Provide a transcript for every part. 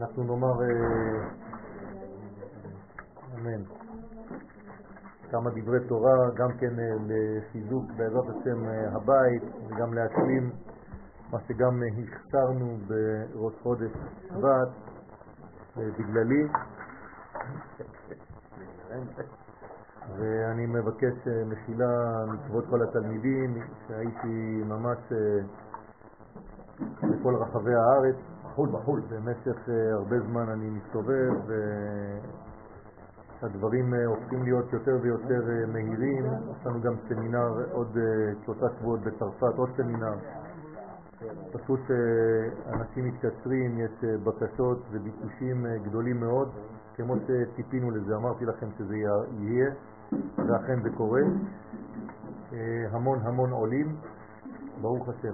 אנחנו נאמר אמן. כמה דברי תורה, גם כן לחיזוק בעזרת השם הבית, וגם להשלים מה שגם הכתרנו בראש חודש שבט בגללי. ואני מבקש מחילה מכבוד כל התלמידים שהייתי ממש בכל רחבי הארץ בחול במשך הרבה זמן. אני מסתובב והדברים הופכים להיות יותר ויותר מהירים. יש לנו גם סמינר עוד 3 שבועות בצרפת, עוד סמינר. פשוט אנשים מתקשרים, יש בקשות וביקושים גדולים מאוד, כמו שציפינו לזה. אמרתי לכם שזה יהיה, ואכן זה קורה. המון עולים, ברוך השם.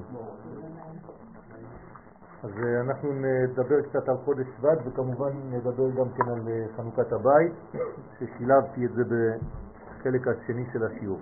אז אנחנו נדבר קצת על חודש שבט, וכמובן נדבר גם כן על חנוכת הבית, ששילבתי את זה בחלק השני של השיעור.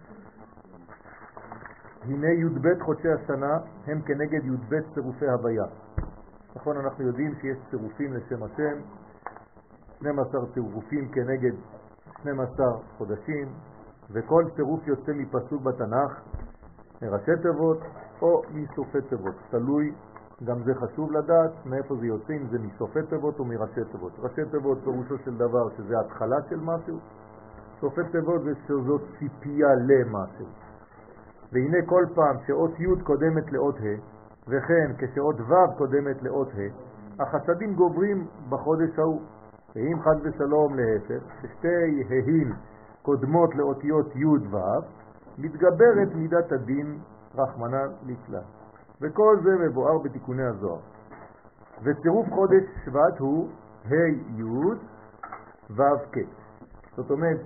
הנה י"ב חודשי השנה הם כנגד י"ב צירופי הוויה. נכון, אנחנו יודעים שיש צירופים לשם השם, 12 צירופים כנגד 12 חודשים, וכל צירוף יוצא מפסוק בתנ"ך, מראשי תיבות או מסופי תיבות. תלוי, גם זה חשוב לדעת מאיפה זה יוצא, אם זה מסופי תיבות או מראשי תיבות. ראשי תיבות פירושו של דבר שזה התחלה של משהו, סופי תיבות זה שזאת ציפייה למשהו. והנה כל פעם שאות י' קודמת לאות ה', וכן כשאות ו' קודמת לאות ה', החסדים גוברים בחודש ההוא. ואם חד ושלום להפך, ששתי ה'ים קודמות לאותיות י' ו', מתגברת מידת הדין רחמנא ליצלן. וכל זה מבואר בתיקוני הזוהר. וצירוף חודש שבט הוא ה' י' ו' כ'. זאת אומרת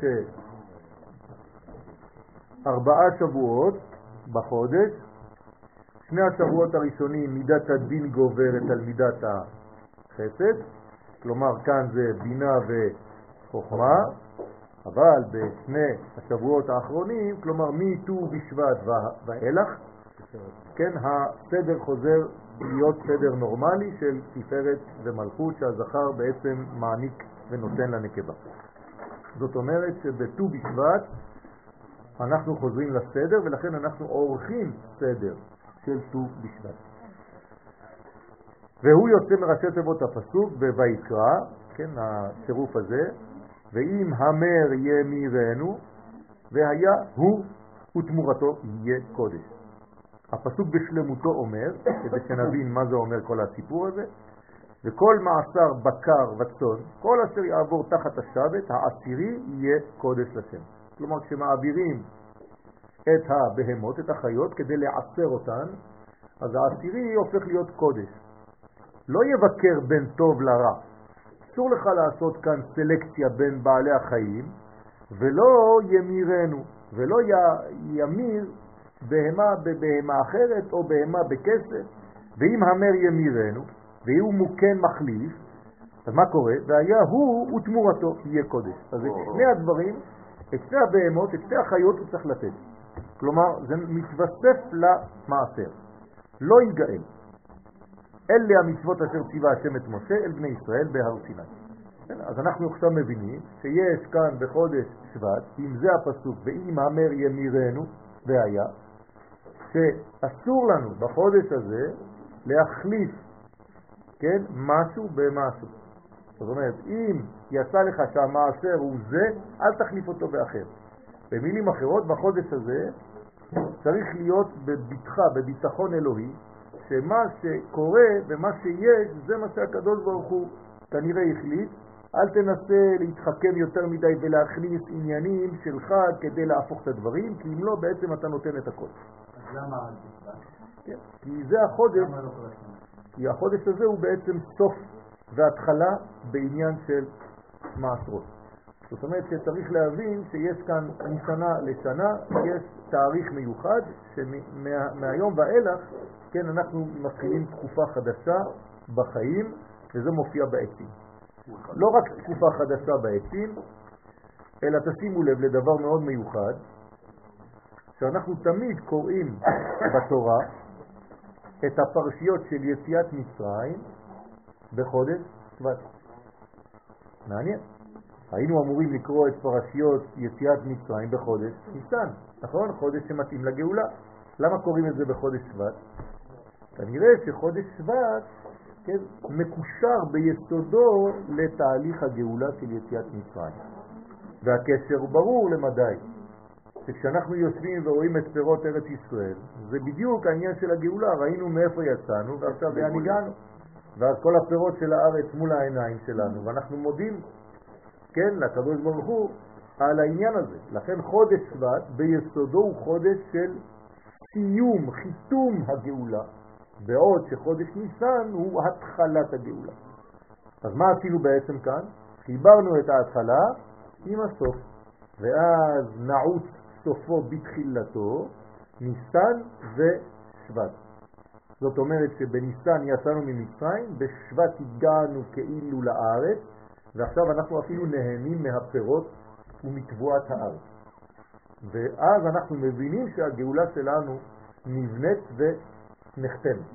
ש4 שבועות בחודש, 2 השבועות הראשונים מידת הדין גוברת על מידת החסד, כלומר כאן זה בינה וחוכמה, אבל בשני השבועות האחרונים, כלומר מט"ו בשבט ואילך, כן, הסדר חוזר להיות סדר נורמלי של תפארת ומלכות שהזכר בעצם מעניק ונותן לנקבה. זאת אומרת שבט"ו בשבט אנחנו חוזרים לסדר, ולכן אנחנו עורכים סדר של ט"ו בשבט. והוא יוצא מראשי תיבות הפסוק בויקרא, כן, הצירוף הזה, ואם המר ימירנו, והיה הוא ותמורתו יהיה קודש. הפסוק בשלמותו אומר, כדי שנבין מה זה אומר כל הסיפור הזה, וכל מעשר בקר וצאן, כל אשר יעבור תחת השבת, העשירי יהיה קודש לשם. כלומר, כשמעבירים את הבהמות, את החיות, כדי לעשר אותן, אז העשירי הופך להיות קודש. לא יבקר בין טוב לרע. אסור לך לעשות כאן סלקציה בין בעלי החיים, ולא ימירנו, ולא ימיר בהמה בבהמה אחרת, או בהמה בכסף. ואם המר ימירנו, והוא מוקן מחליף, אז מה קורה? והיה הוא ותמורתו יהיה קודש. אז את שני הדברים, את שני הבהמות, את שני החיות הוא צריך לתת. כלומר, זה מתווסף למעשר. לא ייגאל. אלה המצוות אשר ציווה השם את משה אל בני ישראל בהר סיני. אז אנחנו עכשיו מבינים שיש כאן בחודש שבט, אם זה הפסוק, ואם המר ימירנו, והיה, שאסור לנו בחודש הזה להחליף, כן, משהו במשהו. זאת אומרת, אם יצא לך שהמעשר הוא זה, אל תחליף אותו באחר. במילים אחרות, בחודש הזה צריך להיות בביטחון אלוהי, שמה שקורה ומה שיש, זה מה שהקדוש ברוך הוא כנראה החליט. אל תנסה להתחכם יותר מדי ולהכניס עניינים שלך כדי להפוך את הדברים, כי אם לא, בעצם אתה נותן את הכל. אז למה אל תשבע? כן, כי זה החודש, כי החודש הזה הוא בעצם סוף והתחלה בעניין של מעשרות. זאת אומרת שצריך להבין שיש כאן משנה לשנה, יש תאריך מיוחד שמהיום ואילך, כן, אנחנו מתחילים תקופה חדשה בחיים, וזה מופיע בעצים. לא רק תקופה חדשה בעצים, אלא תשימו לב לדבר מאוד מיוחד, שאנחנו תמיד קוראים בתורה את הפרשיות של יציאת מצרים בחודש שבט. מעניין. היינו אמורים לקרוא את פרשיות יציאת מצרים בחודש ניסן, נכון? חודש שמתאים לגאולה. למה קוראים את זה בחודש שבט? כנראה שחודש שבט, כן, מקושר ביסודו לתהליך הגאולה של יציאת מצרים. והקשר הוא ברור למדי. שכשאנחנו יושבים ורואים את פירות ארץ ישראל, זה בדיוק העניין של הגאולה. ראינו מאיפה יצאנו ועכשיו לאן הגענו. ואז כל הפירות של הארץ מול העיניים שלנו, ואנחנו מודים, כן, לקדוש ברוך הוא על העניין הזה. לכן חודש שבט ביסודו הוא חודש של סיום, חיתום הגאולה, בעוד שחודש ניסן הוא התחלת הגאולה. אז מה עשינו בעצם כאן? חיברנו את ההתחלה עם הסוף, ואז נעוץ סופו בתחילתו, ניסן ושבט. זאת אומרת שבניסן יצאנו ממצרים, בשבט הגענו כאילו לארץ, ועכשיו אנחנו אפילו נהנים מהפירות ומתבואת הארץ. ואז אנחנו מבינים שהגאולה שלנו נבנית ונחתמת.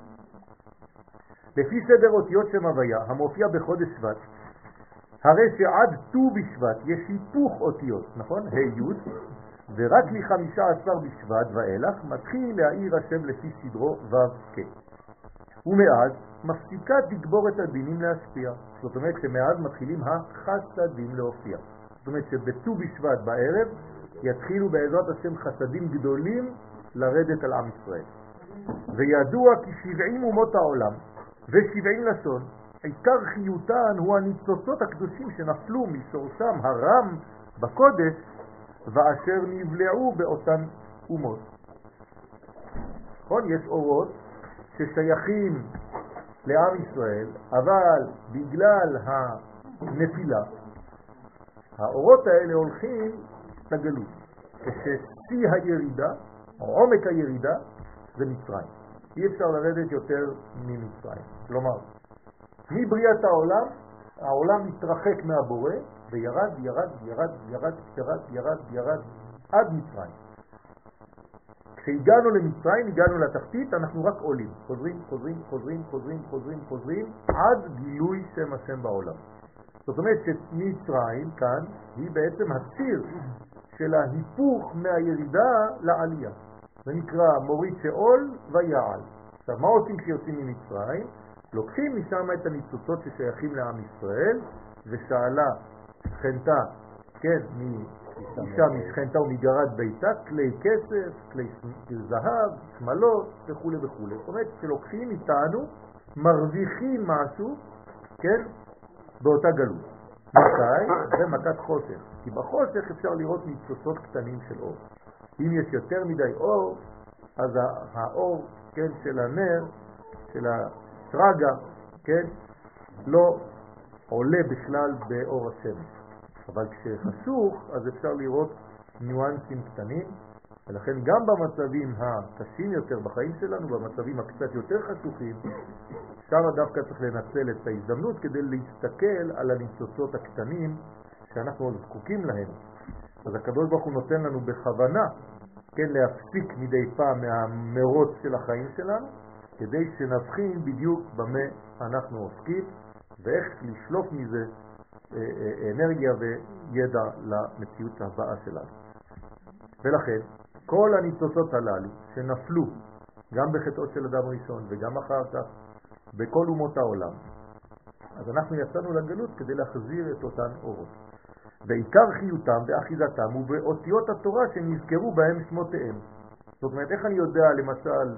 לפי סדר אותיות שם הוויה המופיע בחודש שבט, הרי שעד ט"ו בשבט יש היפוך אותיות, נכון? ה' י', ורק מ-15 בשבט ואילך מתחיל להאיר השם לפי סדרו ו' כ'. ומאז מפסיקה תגבור את הדינים להשפיע. זאת אומרת שמאז מתחילים החסדים להופיע. זאת אומרת שבט"ו בשבט בערב יתחילו בעזרת השם חסדים גדולים לרדת על עם ישראל. וידוע כי 70 אומות העולם ו70 לשון, עיקר חיותן הוא הניצוצות הקדושים שנפלו משורשם הרם בקודש ואשר נבלעו באותן אומות. נכון? יש אורות ששייכים לעם ישראל, אבל בגלל הנפילה האורות האלה הולכים לגלות. כששיא הירידה, עומק הירידה, זה מצרים. אי אפשר לרדת יותר ממצרים. כלומר, מבריאת העולם, העולם מתרחק מהבורא וירד, ירד, ירד, ירד, ירד, ירד, ירד, עד מצרים. כשהגענו למצרים, הגענו לתחתית, אנחנו רק עולים. חוזרים, חוזרים, חוזרים, חוזרים, חוזרים, חוזרים, עד גילוי שם השם בעולם. זאת אומרת שמצרים כאן היא בעצם הציר של ההיפוך מהירידה לעלייה. זה נקרא מוריד שאול ויעל. עכשיו, מה עושים כשיוצאים ממצרים? לוקחים משם את הניצוצות ששייכים לעם ישראל, ושאלה שכנתה, כן, אישה משכנתה ומגרד ביתה, כלי כסף, כלי זהב, שמלות וכו' וכו'. זאת אומרת שלוקחים איתנו, מרוויחים משהו, כן, באותה גלות. מתי? זה מכת חושך. כי בחושך אפשר לראות ניצוצות קטנים של אור. אם יש יותר מדי אור, אז האור, כן, של הנר, של הסרגה, כן, לא עולה בכלל באור השמש. אבל כשחשוך, אז אפשר לראות ניואנסים קטנים, ולכן גם במצבים הקשים יותר בחיים שלנו, במצבים הקצת יותר חשוכים, שם דווקא צריך לנצל את ההזדמנות כדי להסתכל על הניצוצות הקטנים שאנחנו עוד זקוקים להם. אז הקדוש ברוך הוא נותן לנו בכוונה, כן, להפסיק מדי פעם מהמרוץ של החיים שלנו, כדי שנבחין בדיוק במה אנחנו עוסקים, ואיך לשלוף מזה אנרגיה וידע למציאות הבאה שלנו. ולכן, כל הניצוצות הללו שנפלו, גם בחטאות של אדם ראשון וגם אחר כך, בכל אומות העולם, אז אנחנו יצאנו לגלות כדי להחזיר את אותן אורות. בעיקר חיותם ואחיזתם ובאותיות התורה שנזכרו בהם שמותיהם. זאת אומרת, איך אני יודע למשל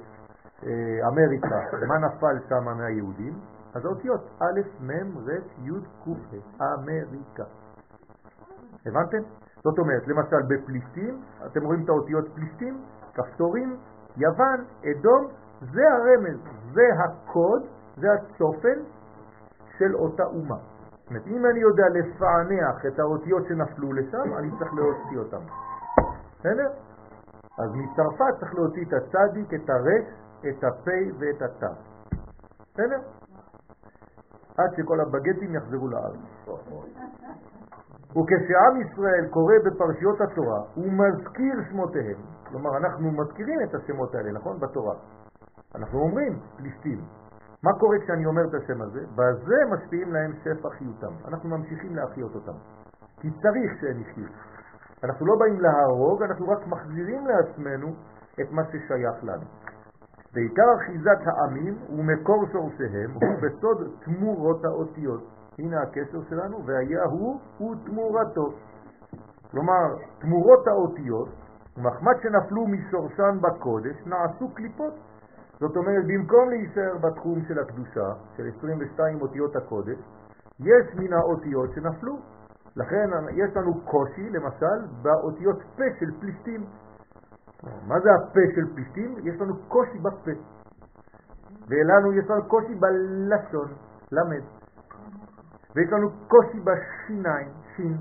באמריקה מה נפל שם מהיהודים? אז האותיות א', מ', ר', י', ק', אמריקה. הבנתם? זאת אומרת, למשל בפלישתים, אתם רואים את האותיות פלישתים, כפתורים, יוון, אדום, זה הרמז, זה הקוד, זה הצופן של אותה אומה. זאת אומרת, אם אני יודע לפענח את האותיות שנפלו לשם, אני צריך להוציא אותם. בסדר? אז מצרפת צריך להוציא את הצדיק, את הרש, את הפי ואת התא. בסדר? עד שכל הבגטים יחזרו לארץ. וכשעם ישראל קורא בפרשיות התורה, הוא מזכיר שמותיהם. כלומר, אנחנו מזכירים את השמות האלה, נכון? בתורה. אנחנו אומרים פלישתים, מה קורה כשאני אומר את השם הזה? בזה משפיעים להם שפע חיותם. אנחנו ממשיכים להחיות אותם. כי צריך שהם יחיו. אנחנו לא באים להרוג, אנחנו רק מחזירים לעצמנו את מה ששייך לנו. בעיקר אחיזת העמים ומקור שורשיהם הוא בסוד תמורות האותיות. הנה הקשר שלנו, והיה הוא תמורתו. כלומר, תמורות האותיות, ומחמד שנפלו משורשן בקודש, נעשו קליפות. זאת אומרת, במקום להישאר בתחום של הקדושה, של 22 אותיות הקודש, יש מן האותיות שנפלו. לכן יש לנו קושי, למשל, באותיות פה של פלישתים. מה זה הפה של פלישתים? יש לנו קושי בפה. ולנו יש לנו קושי בלשון, למד. ויש לנו קושי בשיניים, שין,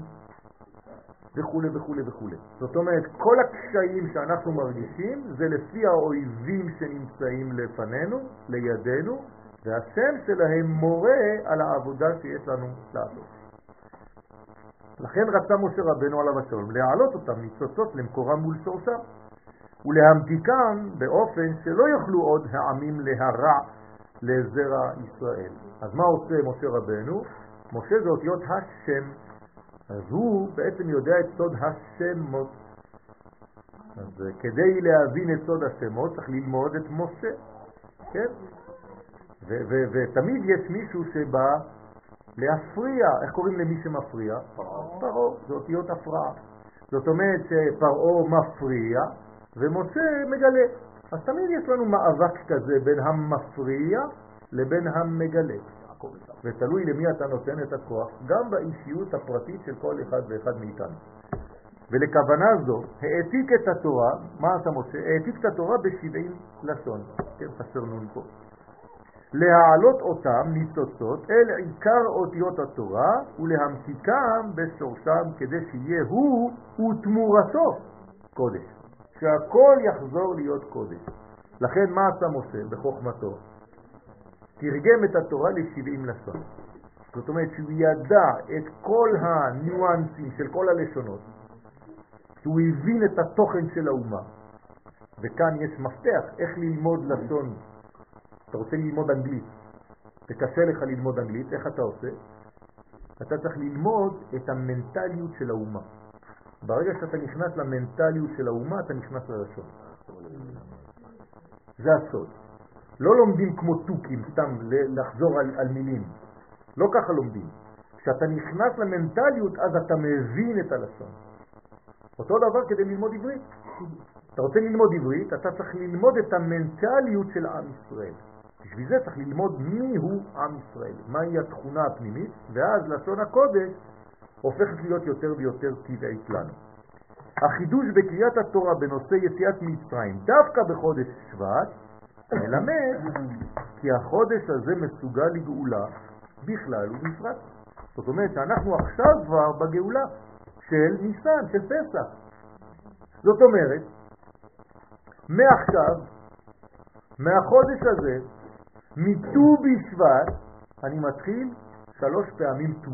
וכו' וכו' וכו'. זאת אומרת, כל הקשיים שאנחנו מרגישים זה לפי האויבים שנמצאים לפנינו, לידינו, והשם שלהם מורה על העבודה שיש לנו לעשות. לכן רצה משה רבנו עליו השלום להעלות אותם ניצוצות למקורם מול שורשם ולהמתיקם באופן שלא יוכלו עוד העמים להרע לזרע ישראל. אז מה עושה משה רבנו? משה זה אותיות השם, אז הוא בעצם יודע את סוד השמות. אז כדי להבין את סוד השמות צריך ללמוד את משה, כן? ותמיד יש מישהו שבא להפריע. איך קוראים למי שמפריע? פרעה. זה אותיות הפרעה. זאת אומרת שפרעה מפריע ומשה מגלה. אז תמיד יש לנו מאבק כזה בין המפריע לבין המגלה. ותלוי למי אתה נותן את הכוח, גם באישיות הפרטית של כל אחד ואחד מאיתנו. ולכוונה זו העתיק את התורה. מה עשה משה? העתיק את התורה ב70 לשון. כן, חסר נון פה. להעלות אותם ניצוצות אל עיקר אותיות התורה ולהמתיקם בשורשם כדי שיהיה הוא ותמורתו קודש, שהכל יחזור להיות קודש. לכן מה עשה משה בחוכמתו? תרגם את התורה ל70 לשון. זאת אומרת שהוא ידע את כל הניואנסים של כל הלשונות, שהוא הבין את התוכן של האומה. וכאן יש מפתח איך ללמוד לשון. אתה רוצה ללמוד אנגלית, וקשה לך ללמוד אנגלית, איך אתה עושה? אתה צריך ללמוד את המנטליות של האומה. ברגע שאתה נכנס למנטליות של האומה, אתה נכנס ללשון. זה הסוד. לא לומדים כמו טוקים, סתם לחזור על מילים. לא ככה לומדים. כשאתה נכנס למנטליות, אז אתה מבין את הלשון. אותו דבר כדי ללמוד עברית. אתה רוצה ללמוד עברית, אתה צריך ללמוד את המנטליות של עם ישראל. בשביל זה צריך ללמוד מי הוא עם ישראל, מהי התכונה הפנימית, ואז לשון הקודש הופכת להיות יותר ויותר טבעית לנו. החידוש בקריאת התורה בנושא יציאת מצרים, דווקא בחודש שבט, מלמד כי החודש הזה מסוגל לגאולה בכלל ובפרט. זאת אומרת שאנחנו עכשיו כבר בגאולה של ניסן, של פסח. זאת אומרת, מעכשיו, מהחודש הזה, מט"ו בשבט, אני מתחיל 3 פעמים ט"ו.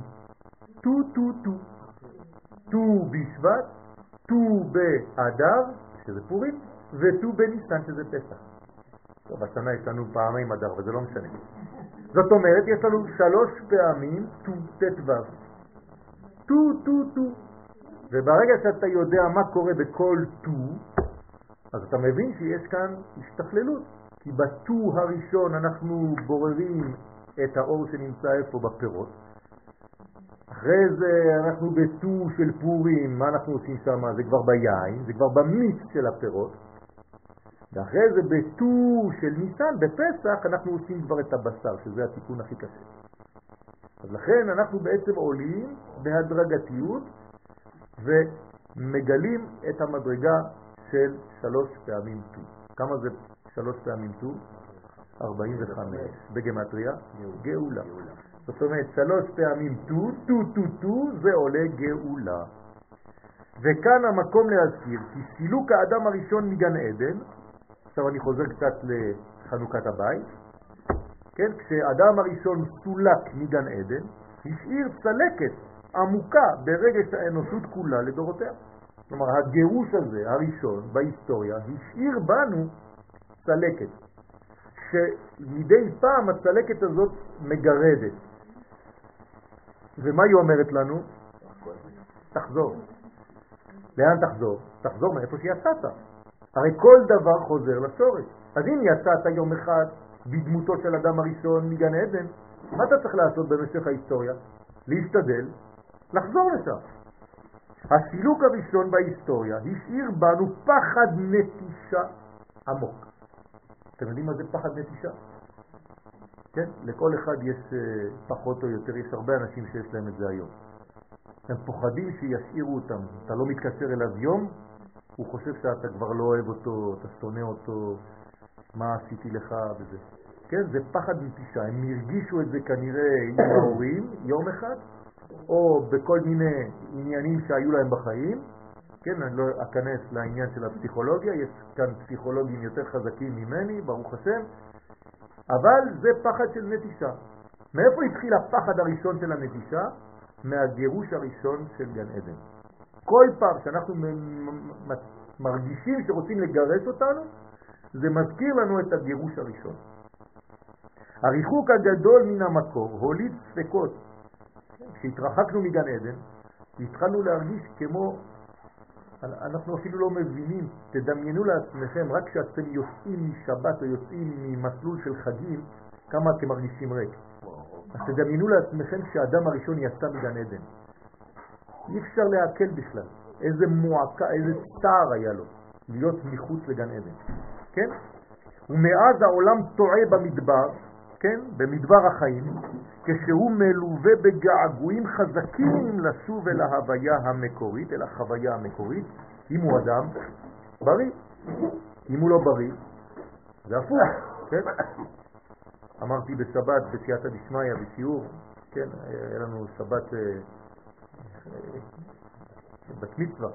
ט"ו בשבט, ט"ו באדר, שזה פורים, וט"ו בניסן, שזה פסח. טוב, השנה יש לנו פעמיים אדר, וזה לא משנה. זאת אומרת, יש לנו 3 פעמים ט"ו. וברגע שאתה יודע מה קורה בכל ט"ו, אז אתה מבין שיש כאן השתכללות. כי בט"ו הראשון אנחנו בוררים את האור שנמצא איפה בפירות. אחרי זה אנחנו בט"ו של פורים, מה אנחנו עושים שם? זה כבר ביין, זה כבר במיץ של הפירות. ואחרי זה בט"ו של ניסן, בפסח, אנחנו עושים כבר את הבשר, שזה התיקון הכי קשה. אז לכן אנחנו בעצם עולים בהדרגתיות ומגלים את המדרגה של 3 פעמים ט"ו. כמה זה 3 פעמים ט"ו? 45. בגמטריה? גאולה. זאת אומרת 3 פעמים ט"ו, זה עולה גאולה. וכאן המקום להזכיר כי סילוק האדם הראשון מגן עדן, עכשיו אני חוזר קצת לחנוכת הבית, כן? כשאדם הראשון סולק מגן עדן, השאיר צלקת עמוקה ברגש האנושות כולה לדורותיה. כלומר, הגירוש הזה, הראשון בהיסטוריה, השאיר בנו צלקת, שמדי פעם הצלקת הזאת מגרדת. ומה היא אומרת לנו? תחזור. לאן תחזור? תחזור מאיפה שיצאת. הרי כל דבר חוזר לשורש. אז אם יצאת יום אחד בדמותו של אדם הראשון מגן עדן, מה אתה צריך לעשות במשך ההיסטוריה? להשתדל לחזור לשם. הסילוק הראשון בהיסטוריה השאיר בנו פחד נטישה עמוק. אתם יודעים מה זה פחד נטישה? כן? לכל אחד יש פחות או יותר, יש הרבה אנשים שיש להם את זה היום. הם פוחדים שישאירו אותם. אתה לא מתקשר אליו יום, הוא חושב שאתה כבר לא אוהב אותו, אתה שונא אותו, מה עשיתי לך וזה. כן? זה פחד נטישה. הם הרגישו את זה כנראה עם ההורים יום אחד, או בכל מיני עניינים שהיו להם בחיים. כן, אני לא אכנס לעניין של הפסיכולוגיה, יש כאן פסיכולוגים יותר חזקים ממני, ברוך השם, אבל זה פחד של נטישה. מאיפה התחיל הפחד הראשון של הנטישה? מהגירוש הראשון של גן עדן. כל פעם שאנחנו מרגישים שרוצים לגרש אותנו, זה מזכיר לנו את הגירוש הראשון. הריחוק הגדול מן המקור הוליד ספקות. כשהתרחקנו מגן עדן, התחלנו להרגיש כמו, אנחנו אפילו לא מבינים, תדמיינו לעצמכם, רק כשאתם יוצאים משבת או יוצאים ממסלול של חגים, כמה אתם מרגישים ריק. אז תדמיינו לעצמכם שהאדם הראשון יצא מגן עדן. אי אפשר להקל בכלל. איזה מועקה, איזה צער היה לו להיות מחוץ לגן עדן. כן? ומאז העולם טועה במדבר, כן? במדבר החיים, כשהוא מלווה בגעגועים חזקים לשוב אל ההוויה המקורית, אל החוויה המקורית. אם הוא אדם, בריא. אם הוא לא בריא, זה הפוך, כן? אמרתי בשבת, בסייעתא דשמיא, בשיעור, כן? היה לנו שבת בת מצווה.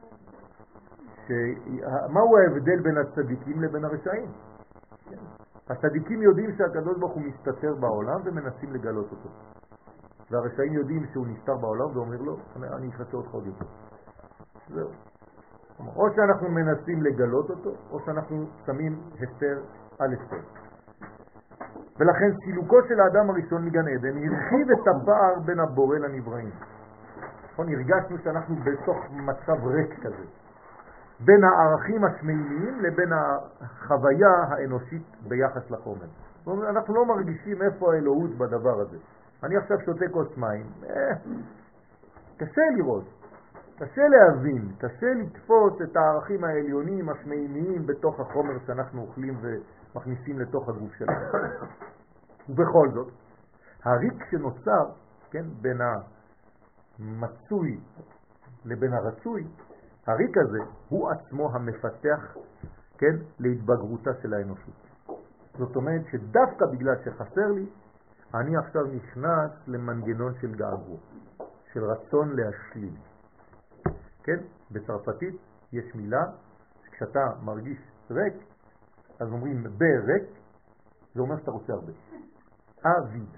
מהו ההבדל בין הצדיקים לבין הרשעים? הצדיקים יודעים שהקדוש ברוך הוא מסתתר בעולם ומנסים לגלות אותו. והרשעים יודעים שהוא נסתר בעולם ואומר לו, אני אחסה אותך עוד יותר. זהו. או שאנחנו מנסים לגלות אותו, או שאנחנו שמים הסתר על הסתר. ולכן סילוקו של האדם הראשון מגן עדן הרחיב את הפער בין הבורא לנבראים. הרגשנו שאנחנו בתוך מצב ריק כזה. בין הערכים השמיימיים לבין החוויה האנושית ביחס לחומר. אנחנו לא מרגישים איפה האלוהות בדבר הזה. אני עכשיו שותה כוס מים, קשה לראות, קשה להבין, קשה לתפוס את הערכים העליונים השמיימיים בתוך החומר שאנחנו אוכלים ומכניסים לתוך הגוף שלנו. ובכל זאת, הריק שנוצר, כן, בין המצוי לבין הרצוי, הריק הזה הוא עצמו המפתח, כן, להתבגרותה של האנושות. זאת אומרת שדווקא בגלל שחסר לי, אני עכשיו נכנס למנגנון של געגוע, של רצון להשלים. כן? בצרפתית יש מילה, כשאתה מרגיש ריק, אז אומרים בריק, זה אומר שאתה רוצה הרבה. אביד.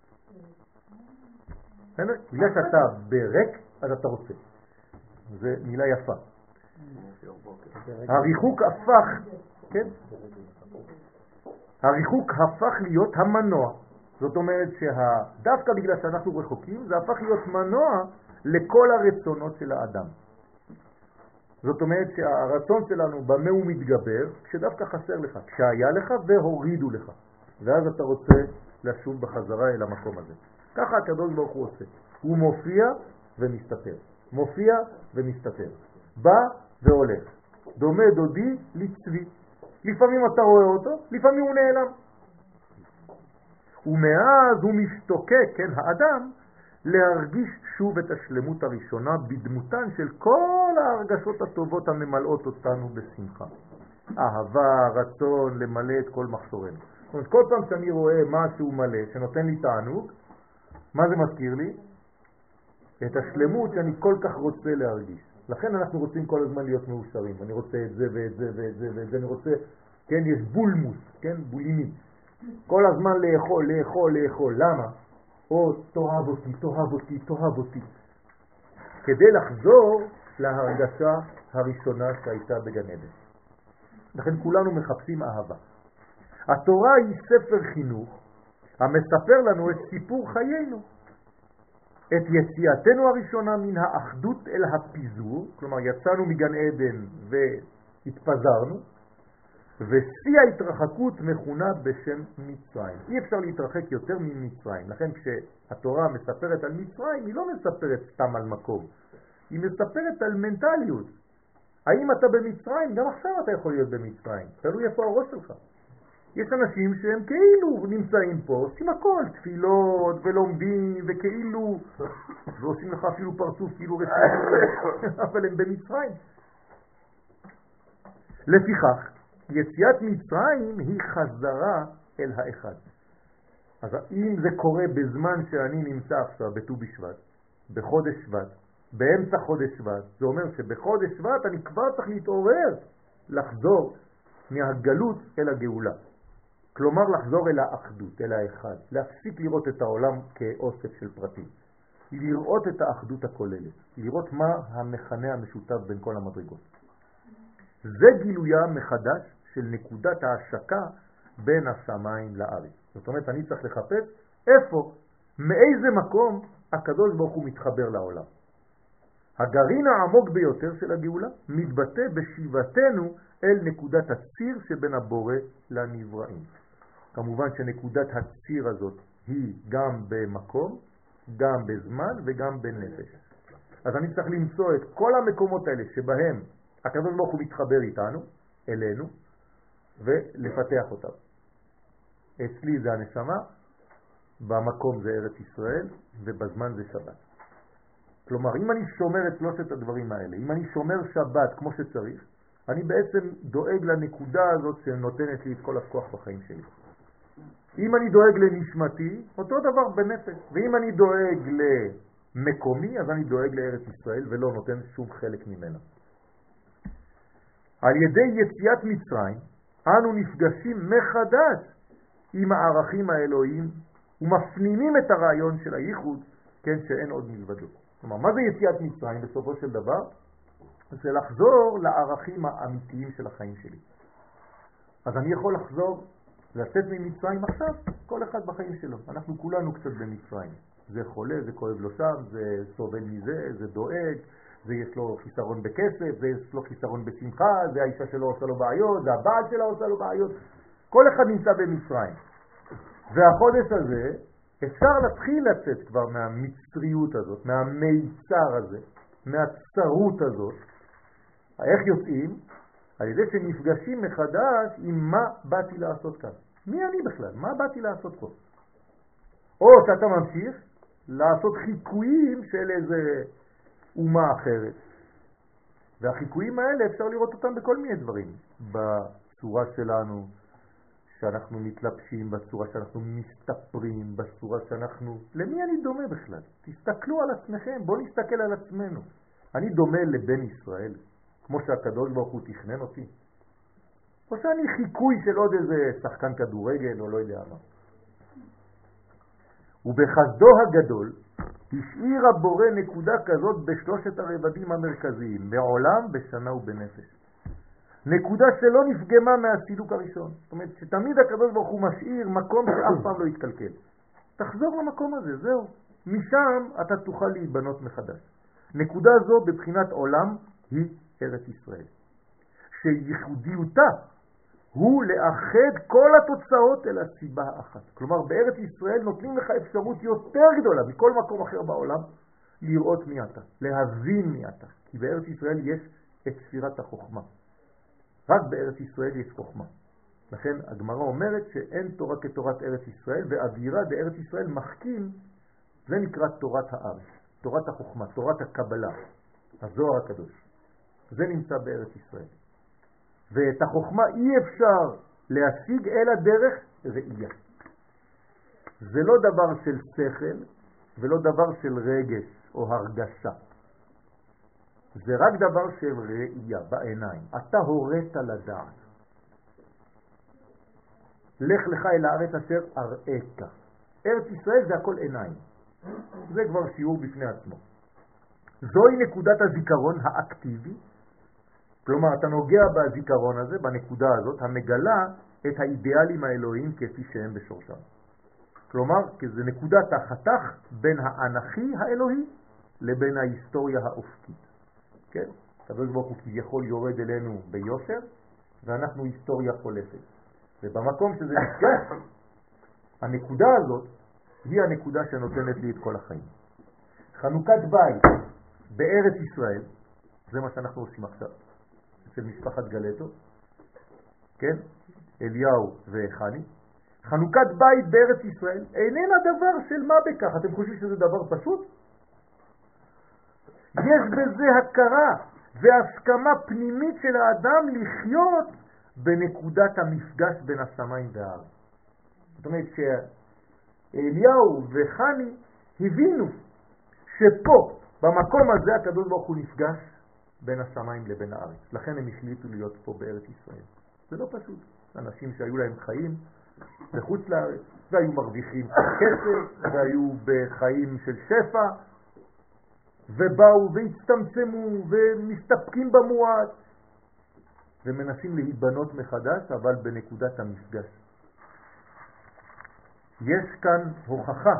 בגלל שאתה בריק, אז אתה רוצה. זה מילה יפה. הריחוק הפך, כן? הריחוק הפך להיות המנוע. זאת אומרת שדווקא בגלל שאנחנו רחוקים, זה הפך להיות מנוע לכל הרצונות של האדם. זאת אומרת שהרצון שלנו במה הוא מתגבר, כשדווקא חסר לך, כשהיה לך והורידו לך. ואז אתה רוצה לשוב בחזרה אל המקום הזה. ככה הקדוש ברוך הוא עושה. הוא מופיע ומסתתר. מופיע ומסתתר. בא והולך. דומה דודי לצבי. לפעמים אתה רואה אותו, לפעמים הוא נעלם. ומאז הוא משתוקק, כן, האדם, להרגיש שוב את השלמות הראשונה בדמותן של כל ההרגשות הטובות הממלאות אותנו בשמחה. אהבה, רצון, למלא את כל מחסורנו. זאת אומרת, כל פעם שאני רואה משהו מלא שנותן לי תענוג, מה זה מזכיר לי? את השלמות שאני כל כך רוצה להרגיש. לכן אנחנו רוצים כל הזמן להיות מאושרים. אני רוצה את זה ואת זה ואת זה ואת זה. אני רוצה, כן, יש בולמוס, כן, בולימי. כל הזמן לאכול, לאכול, לאכול. למה? או תאהב אותי, תאהב אותי, תאהב אותי. כדי לחזור להרגשה הראשונה שהייתה בגן עדן. לכן כולנו מחפשים אהבה. התורה היא ספר חינוך המספר לנו את סיפור חיינו, את יציאתנו הראשונה מן האחדות אל הפיזור, כלומר יצאנו מגן עדן והתפזרנו, ושיא ההתרחקות מכונה בשם מצרים. אי אפשר להתרחק יותר ממצרים, לכן כשהתורה מספרת על מצרים היא לא מספרת סתם על מקום, היא מספרת על מנטליות. האם אתה במצרים? גם עכשיו אתה יכול להיות במצרים, תלוי איפה הראש שלך. יש אנשים שהם כאילו נמצאים פה, עושים הכל, תפילות ולומדים וכאילו, ועושים לך אפילו פרצוף כאילו רצינות, אבל הם במצרים. לפיכך, יציאת מצרים היא חזרה אל האחד. אז אם זה קורה בזמן שאני נמצא עכשיו בט"ו בשבט, בחודש שבט, באמצע חודש שבט, זה אומר שבחודש שבט אני כבר צריך להתעורר, לחזור מהגלות אל הגאולה. כלומר לחזור אל האחדות, אל האחד, להפסיק לראות את העולם כאוסף של פרטים, לראות את האחדות הכוללת, לראות מה המכנה המשותף בין כל המדרגות. זה גילויה מחדש של נקודת ההשקה בין השמיים לארץ. זאת אומרת, אני צריך לחפש איפה, מאיזה מקום הקדוש ברוך הוא מתחבר לעולם. הגרעין העמוק ביותר של הגאולה מתבטא בשיבתנו אל נקודת הציר שבין הבורא לנבראים. כמובן שנקודת הציר הזאת היא גם במקום, גם בזמן וגם בנפש. אז אני צריך למצוא את כל המקומות האלה שבהם הקדוש ברוך הוא מתחבר איתנו, אלינו, ולפתח אותם. אצלי זה הנשמה, במקום זה ארץ ישראל, ובזמן זה שבת. כלומר, אם אני שומר את שלושת הדברים האלה, אם אני שומר שבת כמו שצריך, אני בעצם דואג לנקודה הזאת שנותנת לי את כל הכוח בחיים שלי. אם אני דואג לנשמתי, אותו דבר בנפש. ואם אני דואג למקומי, אז אני דואג לארץ ישראל ולא נותן שום חלק ממנה. על ידי יציאת מצרים, אנו נפגשים מחדש עם הערכים האלוהיים ומפנימים את הרעיון של הייחוד, כן, שאין עוד מלבדו. כלומר, מה זה יציאת מצרים בסופו של דבר? זה לחזור לערכים האמיתיים של החיים שלי. אז אני יכול לחזור, לצאת ממצרים עכשיו, כל אחד בחיים שלו. אנחנו כולנו קצת במצרים. זה חולה, זה כואב לו שם, זה סובל מזה, זה דואג, זה יש לו חיסרון בכסף, זה יש לו חיסרון בשמחה, זה האישה שלו עושה לו בעיות, זה הבעל שלו עושה לו בעיות. כל אחד נמצא במצרים. והחודש הזה, אפשר להתחיל לצאת כבר מהמצריות הזאת, מהמיצר הזה, מהצרות הזאת. איך יוצאים? על ידי שנפגשים מחדש עם מה באתי לעשות כאן. מי אני בכלל? מה באתי לעשות פה? או שאתה ממשיך לעשות חיקויים של איזה אומה אחרת. והחיקויים האלה אפשר לראות אותם בכל מיני דברים. בצורה שלנו, שאנחנו מתלבשים, בצורה שאנחנו מסתפרים, בצורה שאנחנו... למי אני דומה בכלל? תסתכלו על עצמכם, בואו נסתכל על עצמנו. אני דומה לבן ישראל, כמו שהקדוש ברוך הוא תכנן אותי? או שאני חיקוי של עוד איזה שחקן כדורגל או לא יודע מה? ובחסדו הגדול השאיר הבורא נקודה כזאת בשלושת הרבדים המרכזיים, בעולם, בשנה ובנפש. נקודה שלא נפגמה מהסילוק הראשון. זאת אומרת שתמיד הקדוש ברוך הוא משאיר מקום שאף פעם לא יתקלקל. תחזור למקום הזה, זהו. משם אתה תוכל להיבנות מחדש. נקודה זו בבחינת עולם היא ארץ ישראל. שייחודיותה הוא לאחד כל התוצאות אל הסיבה האחת. כלומר, בארץ ישראל נותנים לך אפשרות יותר גדולה מכל מקום אחר בעולם לראות מי אתה, להבין מי אתה. כי בארץ ישראל יש את ספירת החוכמה. רק בארץ ישראל יש חוכמה. לכן הגמרא אומרת שאין תורה כתורת ארץ ישראל, ואווירה בארץ ישראל מחכים, זה נקרא תורת הארץ, תורת החוכמה, תורת הקבלה, הזוהר הקדוש. זה נמצא בארץ ישראל. ואת החוכמה אי אפשר להשיג אלא דרך ראייה. זה לא דבר של שכל ולא דבר של רגש או הרגשה. זה רק דבר של ראייה בעיניים. אתה הורית לדעת. לך לך אל הארץ אשר אראך. ארץ ישראל זה הכל עיניים. זה כבר שיעור בפני עצמו. זוהי נקודת הזיכרון האקטיבי. כלומר, אתה נוגע בזיכרון הזה, בנקודה הזאת, המגלה את האידיאלים האלוהיים כפי שהם בשורשם. כלומר, זה נקודת החתך בין האנכי האלוהי לבין ההיסטוריה האופקית. כן? הקדוש ברוך הוא כביכול יורד אלינו ביושר, ואנחנו היסטוריה חולפת. ובמקום שזה נפגש, הנקודה הזאת היא הנקודה שנותנת לי את כל החיים. חנוכת בית בארץ ישראל, זה מה שאנחנו עושים עכשיו, אצל משפחת גלטו, כן? אליהו וחני. חנוכת בית בארץ ישראל איננה דבר של מה בכך. אתם חושבים שזה דבר פשוט? יש בזה הכרה והסכמה פנימית של האדם לחיות בנקודת המפגש בין השמיים והארץ. זאת אומרת שאליהו וחני הבינו שפה, במקום הזה, הקדוש ברוך הוא נפגש בין השמיים לבין הארץ. לכן הם החליטו להיות פה בארץ ישראל. זה לא פשוט. אנשים שהיו להם חיים בחוץ לארץ, והיו מרוויחים כסף, והיו בחיים של שפע, ובאו והצטמצמו ומסתפקים במועט, ומנסים להיבנות מחדש, אבל בנקודת המפגש. יש כאן הוכחה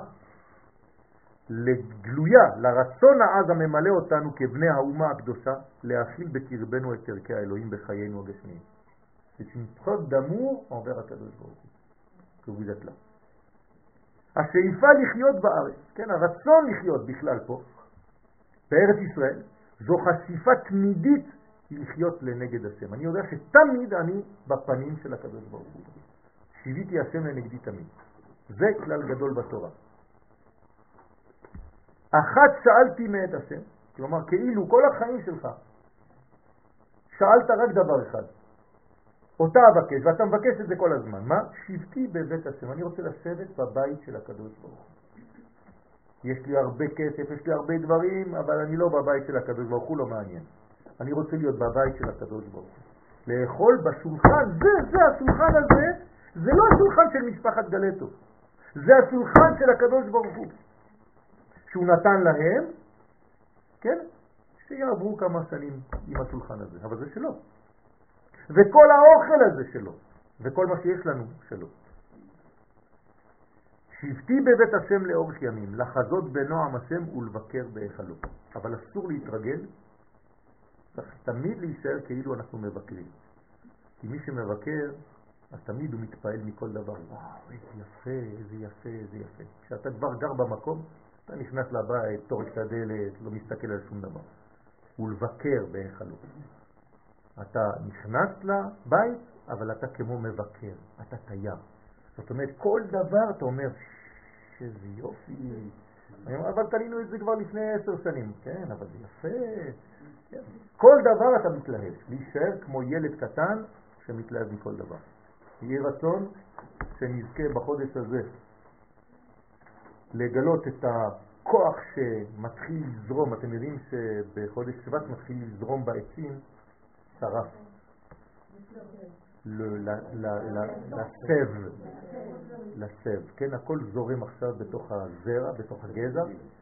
לגלויה, לרצון העז הממלא אותנו כבני האומה הקדושה, להכיל בקרבנו את ערכי האלוהים בחיינו הגשמיים. C'est une preuve d'amour envers הקדוש ברוך הוא, que vous êtes là. השאיפה לחיות בארץ, כן, הרצון לחיות בכלל פה, בארץ ישראל, זו חשיפה תמידית לחיות לנגד השם. אני יודע שתמיד אני בפנים של הקדוש ברוך הוא. שיביתי השם לנגדי תמיד. זה כלל גדול בתורה. אחת שאלתי מאת השם, כלומר כאילו כל החיים שלך, שאלת רק דבר אחד. אותה אבקש, ואתה מבקש את זה כל הזמן. מה? שבתי בבית השם. אני רוצה לשבת בבית של הקדוש ברוך הוא. יש לי הרבה כסף, יש לי הרבה דברים, אבל אני לא בבית של הקדוש ברוך הוא, לא מעניין. אני רוצה להיות בבית של הקדוש ברוך הוא. לאכול בשולחן, זה השולחן הזה, זה לא השולחן של משפחת גלטו. זה השולחן של הקדוש ברוך הוא. שהוא נתן להם, כן? שיעברו כמה שנים עם השולחן הזה, אבל זה שלו. וכל האוכל הזה שלו, וכל מה שיש לנו שלו. שבתי בבית השם לאורך ימים, לחזות בנועם השם ולבקר בהיכלו. אבל אסור להתרגל, צריך תמיד להישאר כאילו אנחנו מבקרים. כי מי שמבקר, אז תמיד הוא מתפעל מכל דבר. וואו, איזה יפה, איזה יפה, איזה יפה. כשאתה כבר גר במקום, אתה נכנס לבית, תורק את הדלת, לא מסתכל על שום דבר. ולבקר בהיכלו. אתה נכנס לבית, אבל אתה כמו מבקר, אתה תייר. זאת אומרת, כל דבר אתה אומר, שזה יופי. אבל תלינו את זה כבר לפני 10 שנים. כן, אבל זה יפה. כן. כל דבר אתה מתלהב. להישאר כמו ילד קטן שמתלהב מכל דבר. יהיה רצון שנזכה בחודש הזה לגלות את הכוח שמתחיל לזרום. אתם יודעים שבחודש שבט מתחיל לזרום בעצים שרף. לסב, כן, הכל זורם עכשיו בתוך הזרע, בתוך הגזע,